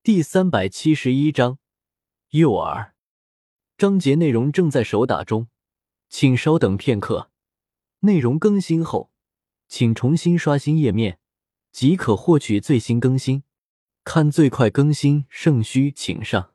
第371章诱饵。章节内容正在手打中，请稍等片刻。内容更新后，请重新刷新页面，即可获取最新更新。看最快更新，圣虚请上。